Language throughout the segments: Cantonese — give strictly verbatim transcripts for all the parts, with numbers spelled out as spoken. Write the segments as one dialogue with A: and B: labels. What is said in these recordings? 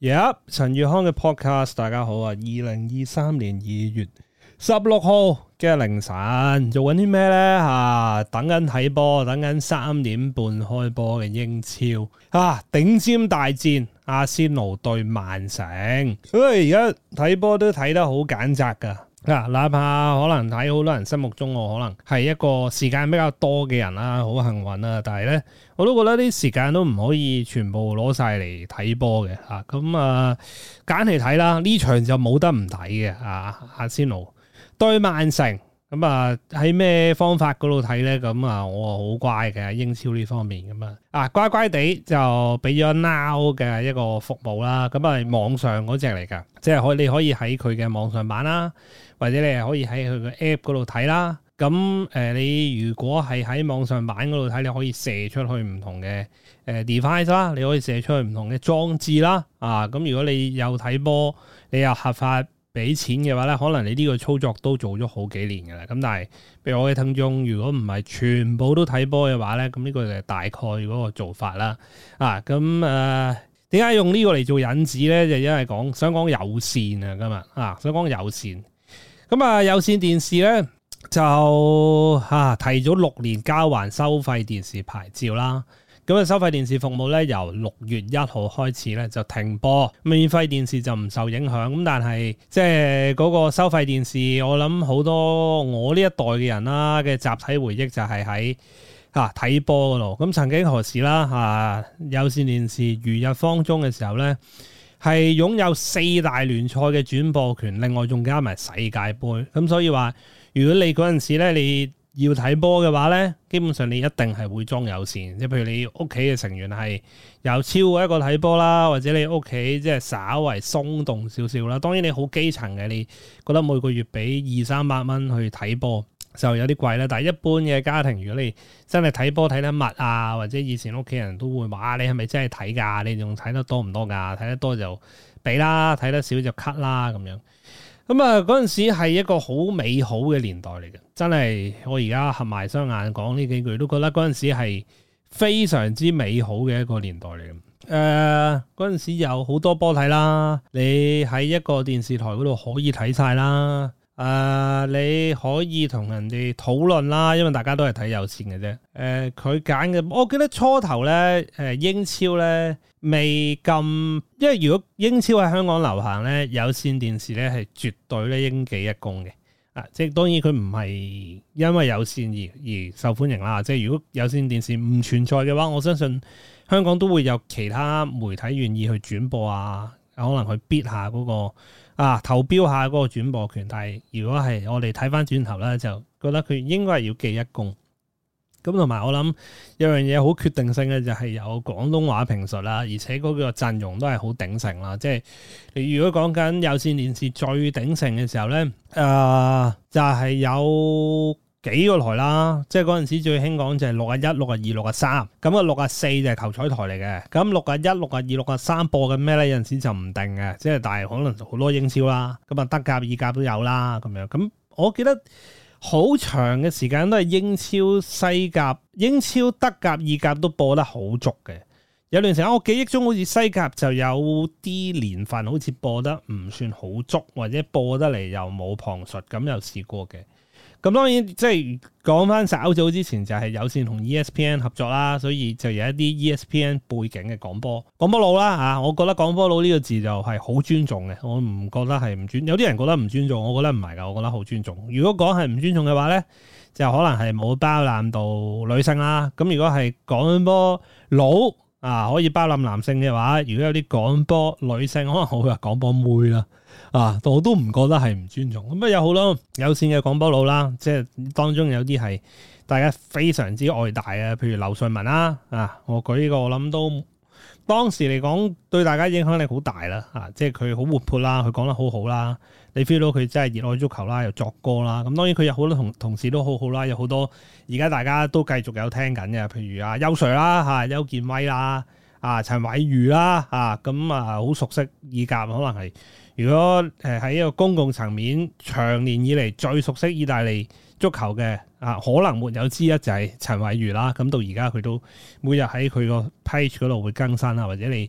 A: Yep， 陳宇康嘅 podcast， 大家好啊！二零二三年二月十六號嘅凌晨做緊啲咩呢？啊，等緊睇波，等緊三點半開波嘅英超啊！頂尖大戰，阿仙奴對曼城。所以而家睇波都睇得好揀擇噶。嗱，哪怕可能喺好多人心目中我可能係一個時間比較多嘅人啦，好幸運啦，但係咧我都覺得啲時間都唔可以全部攞晒嚟睇波嘅嚇，咁啊揀嚟睇啦，呢場就冇得唔睇嘅啊，阿仙奴對曼城。咁啊喺咩方法嗰度睇咧？咁啊我好乖嘅英超呢方面咁啊，啊乖乖地就俾咗 Now 嘅一個服務啦。咁啊網上嗰隻嚟㗎，即係可你可以喺佢嘅網上版啦，或者你係可以喺佢嘅 App 嗰度睇啦。咁誒、呃、你如果係喺網上版嗰度睇，你可以射出去唔同嘅誒 device 啦，你可以射出去唔同嘅裝置啦。啊咁如果你有睇波，你又合法俾錢嘅話咧，可能你呢個操作都做咗好幾年嘅啦。咁但係，譬如我嘅聽眾，如果唔係全部都睇波嘅話咧，咁呢個就係大概嗰個做法啦。啊，咁誒點解用呢個嚟做引子咧？就因為講想講有線啊，今日啊想講有線。咁啊有線電視咧就啊提早六年交還收費電視牌照啦。咁啊，收費電視服務咧，由六月一號開始咧就停播，免費電視就唔受影響。咁但係即係嗰個收費電視，我諗好多我呢一代嘅人啦嘅集體回憶就係喺嚇睇波嗰度。咁曾經何時啦嚇、啊、有線電視如日方中嘅時候咧，係擁有四大聯賽嘅轉播權，另外仲加埋世界盃。咁所以話，如果你嗰陣時咧你要睇波嘅話咧，基本上你一定係會裝有線，即係譬如你屋企嘅成員係有超過一個睇波啦，或者你屋企即係稍為鬆動少少啦。當然你好基層嘅，你覺得每個月俾二三百蚊去睇波就有啲貴啦。但係一般嘅家庭，如果你真係睇波睇得密啊，或者以前屋企人都會話你係咪真係睇㗎？你仲睇得多唔多㗎？睇得多就俾啦，睇得少就 cut 啦咁樣。咁啊，嗰陣時係一個好美好嘅年代嚟嘅，真係我而家合埋雙眼講呢幾句，都覺得嗰陣時係非常之美好嘅一個年代嚟嘅。誒、呃，嗰陣時有好多波睇啦，你喺一個電視台嗰度可以睇晒啦。誒、呃，你可以同人哋討論啦，因為大家都係睇有線嘅啫。誒、呃，佢揀嘅，我記得初頭咧，誒英超咧未咁，因為如果英超喺香港流行咧，有線電視咧係絕對咧應記一功嘅。啊，即係當然佢唔係因為有線而而受歡迎啦。即係如果有線電視唔存在嘅話，我相信香港都會有其他媒體願意去轉播啊，可能去 bid 下嗰個。啊！投標下嗰個轉播權，但係如果係我哋睇翻轉頭咧，就覺得佢應該係要記一功。咁同埋我諗有樣嘢好決定性嘅就係有廣東話評述啦，而且嗰個陣容都係好鼎盛啦。即係你如果講緊有線電視最鼎盛嘅時候咧，誒、呃、就係、是、有幾個台啦，即係嗰陣時最興講就係六啊一、六啊二、六啊三，咁啊六啊四就係球彩台嚟嘅，咁六啊一、六啊二、六啊三播緊咩咧？有陣時就唔定嘅，即係但係可能好多英超啦，咁啊德甲、意甲都有啦，咁樣。咁我記得好長嘅時間都係英超、西甲、英超、德甲、意甲都播得好足嘅。有段時間我記憶中好似西甲就有啲年份好似播得唔算好足，或者播得嚟又冇旁述，咁又試過嘅。咁當然即係講翻稍早之前就係有線同 E S P N 合作啦，所以就有一啲 E S P N 背景嘅廣播廣播佬啦嚇，我覺得廣播佬呢個字就係好尊重嘅，我唔覺得係唔尊，有啲人覺得唔尊重，我覺得唔係㗎，我覺得好尊重。如果講係唔尊重嘅話咧，就可能係冇包攬到女性啦。咁如果係廣播佬啊可以包攬男性嘅話，如果有啲廣播女性，可能我會話廣播妹啦。啊，我都唔覺得係唔尊重。咁啊，有好多有線嘅廣播佬啦，即係當中有啲係大家非常之愛戴啊，譬如劉瑞文啦，啊，我舉呢個我諗都當時嚟講對大家影響力好大啦，啊，即係佢好活潑啦，佢講得好好啦，你 feel 到佢真係熱愛足球啦，又作歌啦。咁當然佢有好多同同事都好好啦，有好多而家大家都繼續有聽緊嘅，譬如啊邱 Sir 啦，嚇邱建威啦，啊陳偉瑜啦，啊咁啊好熟悉意甲，可能係。如果誒喺一個公共層面，長年以嚟最熟悉意大利足球嘅啊，可能沒有之一就係陳偉瑜啦。咁到而家佢都每日喺佢個 page 嗰度會更新啊，或者你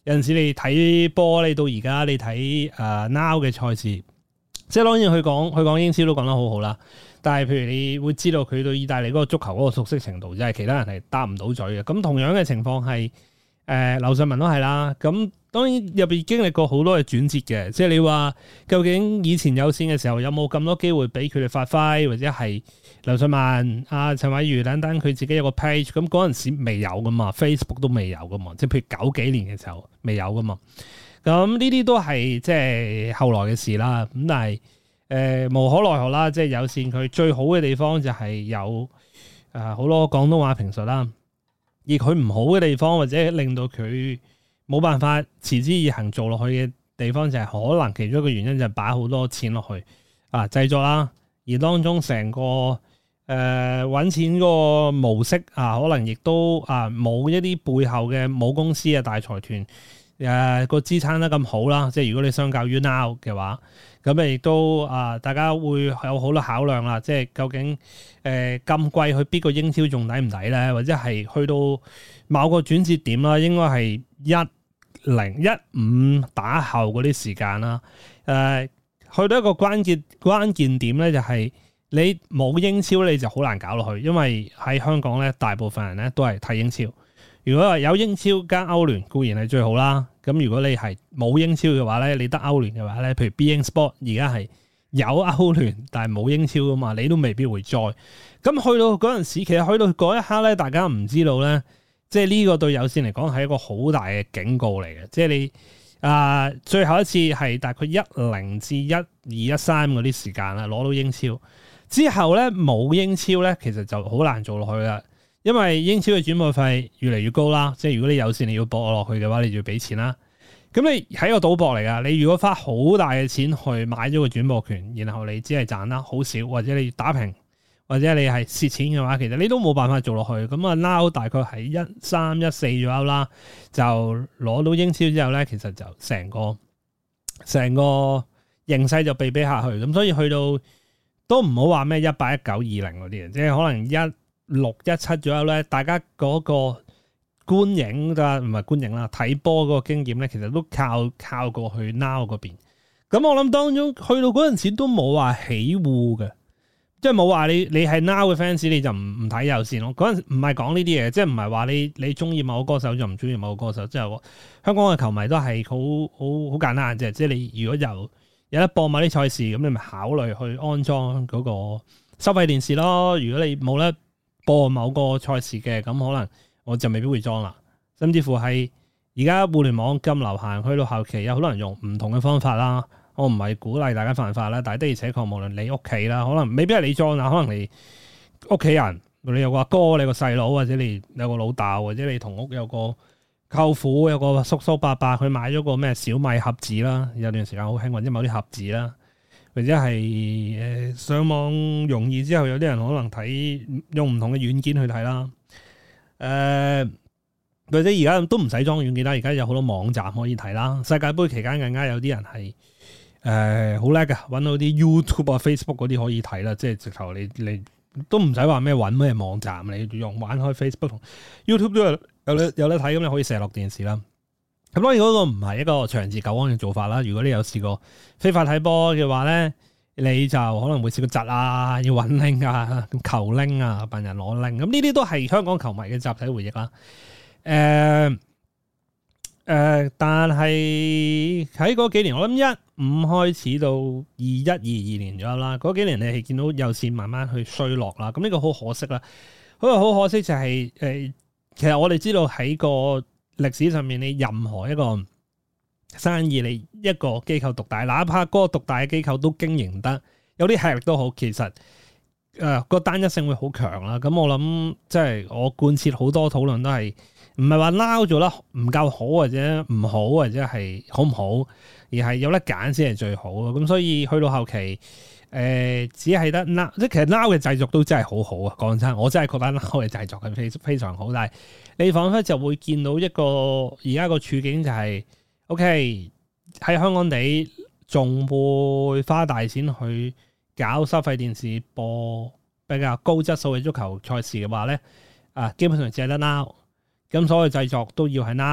A: 有陣時你睇波，你到而家你睇誒、uh, Now 嘅賽事，即係當然佢講佢講英超都講得好好啦。但係譬如你會知道佢對意大利嗰個足球嗰個熟悉程度，即係其他人係答唔到嘴嘅。咁同樣嘅情況係誒劉瑞文都係啦。咁當然入邊經歷過好多嘅轉折嘅，即係你話究竟以前有線嘅時候有冇咁多機會俾佢哋發揮，或者係劉瑞文、阿、啊、陳偉如等等佢自己有個 page，咁嗰陣時未有噶嘛 ，Facebook 都未有噶嘛，即係譬如九幾年嘅時候未有噶嘛。咁呢啲都係即係後來嘅事啦。咁但係誒、呃、無可奈何啦，即係有線佢最好嘅地方就係有誒好、呃、多廣東話評述啦，而佢唔好嘅地方或者令到佢冇辦法持之以恆做落去嘅地方，就係可能其中一個原因就係擺好多錢落去啊製作啦，而當中成個誒揾、呃、錢個模式啊，可能亦都啊冇一啲背後嘅母公司啊大財團誒個支撐得咁好啦。即係如果你相較於 Now 嘅話，咁亦都啊大家會有好多考量啦。即係究竟誒咁貴去邊個英超仲抵唔抵咧？或者係去到某個轉折點啦，應該係一零一五打後嗰啲時間啦，誒、呃，去到一個關鍵關鍵點咧，就係你冇英超你就好難搞落去，因為喺香港咧，大部分人咧都係睇英超。如果話有英超加歐聯固然係最好啦，咁如果你係冇英超嘅話咧，你得歐聯嘅話咧，譬如 beIN Sport 而家係有歐聯但係冇英超噶嘛，你都未必會再。咁去到嗰陣時，其實去到嗰一刻咧，大家唔知道咧。即係呢個對有線嚟講係一個好大嘅警告嚟嘅，即係你啊、呃、最後一次係大概一零至一二一三嗰啲時間啦，攞到英超之後咧冇英超咧，其實就好難做落去啦，因為英超嘅轉播費越嚟越高啦，即係如果你有線你要播落去嘅話，你就要俾錢啦。咁你係一個賭博嚟噶，你如果花好大嘅錢去買咗個轉播權，然後你只係賺得好少，或者你打平。或者你係蝕錢嘅話，其實你都冇辦法做落去。咁啊 Now 大概係一三一四左右啦，就攞到英超之後咧，其實就成個成個形勢就被比下去。咁所以去到都唔好話咩一八一九二零嗰啲嘅，即係可能一六一七左右咧，大家嗰個觀影㗎唔係觀影啦，睇波嗰個經驗咧，其實都靠靠過去 Now 嗰邊。咁我諗當中去到嗰陣時都冇話起戶嘅。即係冇話你你係 Now 嘅 fans 你就唔唔睇有線咯。嗰陣唔係講呢啲嘢，即係唔係話你你中意某個歌手就唔中意某個歌手。即係香港嘅球迷都係好好好簡單嘅啫。即係你如果有有得播某啲賽事，咁你咪考慮去安裝嗰個收費電視咯。如果你冇得播某個賽事嘅，咁可能我就未必會裝啦。甚至乎係而家互聯網咁流行，去到後期有好多人用唔同嘅方法啦。我唔係鼓勵大家犯法啦，但係的而且確，無論你屋企啦，可能未必係你裝啊，可能你屋企人，你有個阿哥，你個細佬，或者你有個老豆，或者你同屋有個舅父，有個叔叔伯伯，佢買咗個咩小米盒子啦，有段時間好興，或者某啲盒子啦，或者係誒、呃、上網容易之後，有啲人可能睇用唔同嘅軟件去睇啦，誒、呃、或者而家都唔使裝軟件啦，而家有好多網站可以睇啦。世界盃期間更加有啲人係。誒好叻㗎，揾到啲 YouTube 啊、Facebook 嗰啲可以睇啦，即係直頭你你都唔使話咩揾咩網站，你用玩開 Facebook 同 YouTube 都有有得有得睇，咁你可以射落電視啦。咁當然嗰個唔係一個長治久安嘅做法啦。如果你有試過非法睇波嘅話咧，你就可能會試過窒啊，要揾拎啊、求拎啊、笨人攞拎，咁呢啲都係香港球迷嘅集體回憶啦。誒、呃、誒、呃，但係喺嗰幾年，我諗一五開始到二一二二年左右啦，嗰幾年你係見到有線慢慢去衰落啦，咁呢個好可惜啦。咁啊好可惜就係、是、誒，其實我哋知道喺個歷史上面，你任何一個生意，你一個機構獨大，哪怕嗰個獨大嘅機構都經營得有啲吃力都好，其實誒、呃個單一性會好強啦。咁我諗即係我貫徹好多討論都係唔係話 Now 做得唔夠好或者唔好或者係好唔好。而係有得揀先係最好咯，咁所以去到後期，誒、呃、只係得 Now，即係其實 Now 嘅製作都真係好好啊！講真，我真係覺得 Now 嘅製作係非非常好，但係你彷彿就會見到一個而家個處境就係、是、，OK 喺香港地仲會花大錢去搞收費電視播比較高質素嘅足球賽事嘅話咧，啊基本上只係得 Now，咁所有製作都要喺 Now。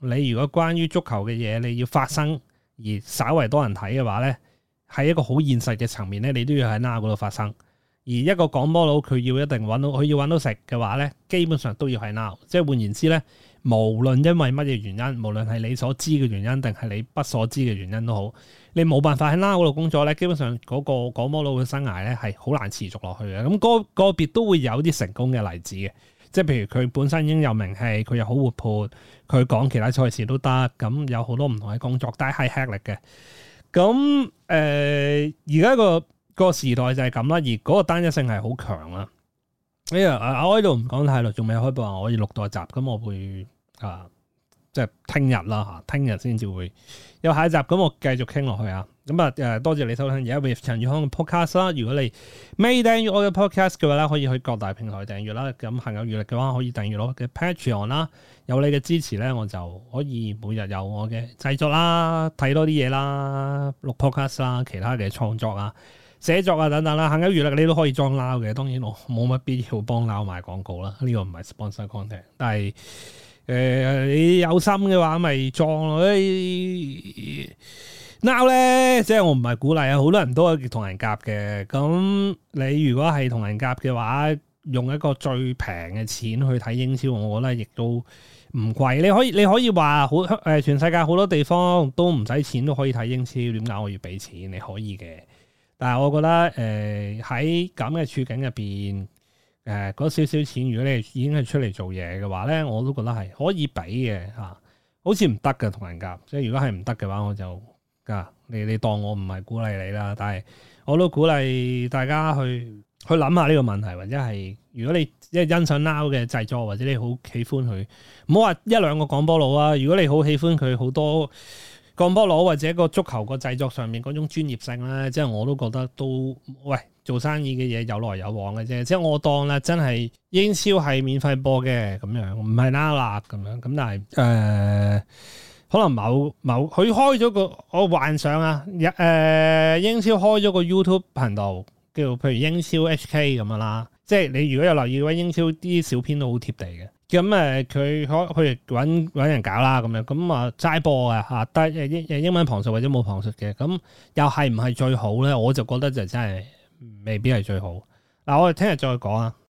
A: 你如果關於足球嘅嘢你要發生而稍為多人睇嘅話咧，喺一個好現實嘅層面咧，你都要喺 Now 嗰度發生。而一個廣播佬佢要一定揾到，佢要揾到食嘅話咧，基本上都要喺 Now。即係換言之咧，無論因為乜嘢原因，無論係你所知嘅原因定係你不所知嘅原因都好，你冇辦法喺 Now 嗰度工作咧，基本上嗰個廣播佬嘅生涯咧係好難持續落去嘅。咁個個別都會有啲成功嘅例子嘅，即係譬如佢本身已經有名氣，佢又好活潑，佢講其他賽事都得，咁有好多唔同嘅工作，但係吃力嘅。咁誒而家個個時代就係咁啦，而嗰個單一性係好強啦。哎呀，我喺度唔講太耐，仲未開播啊！我要錄多集，咁我會啊，即係聽日啦嚇，聽日先至會有下一集，咁我繼續傾落去啊。咁啊誒，多謝你收聽而家 with 陳宇康嘅 podcast 啦。如果你未訂閱我嘅 podcast 嘅話咧，可以去各大平台訂閱啦。咁行有餘力嘅話，可以訂閱我嘅 Patreon 啦。有你嘅支持咧，我就可以每日有我嘅製作啦，睇多啲嘢啦，錄 podcast 啦，其他嘅創作啊、寫作啊等等啦，行有餘力你都可以裝 Now 嘅。當然我冇乜必要幫 Now 賣廣告啦，呢、這個唔係 sponsor content。但係誒、呃、你有心嘅話，咪裝咯。Now 咧，即係我唔係鼓勵啊，好多人都係同人夾嘅。咁你如果係同人夾嘅話，用一個最平嘅錢去睇英超，我覺得亦都唔貴。你可以你可以話好誒，全世界好多地方都唔使錢都可以睇英超，點解我要俾錢？你可以嘅。但係我覺得誒喺咁嘅處境入邊，誒嗰少少錢，如果你已經係出嚟做嘢嘅話咧，我都覺得係可以俾嘅嚇。好似唔得嘅同人夾，即係如果係唔得嘅話，我就啊你你當我唔係鼓勵你啦。但係我都鼓勵大家去去諗下呢個問題，或者係如果你即係欣賞 Now 嘅製作，或者你好喜歡佢，唔好話一兩個廣播佬啊。如果你好喜歡佢好多廣播佬或者個足球個製作上面嗰種專業性咧，即係我都覺得都喂做生意嘅嘢有來有往嘅啫。即係我當啦，真係英超係免費播嘅咁樣，唔係 Now 啦咁樣。咁但係誒、呃，可能某某佢開咗個我幻想啊，誒、呃、英超開咗個 YouTube 頻道。叫譬如英超 H K 咁樣啦，即係你如果有留意嘅話，英超啲小編都好貼地嘅。咁誒，佢可佢揾揾人搞啦，咁樣咁啊齋播嘅嚇，得英英文旁述或者冇旁述嘅，咁又係唔係最好咧？我就覺得就真係未必係最好。嗱，我哋聽日再講啊。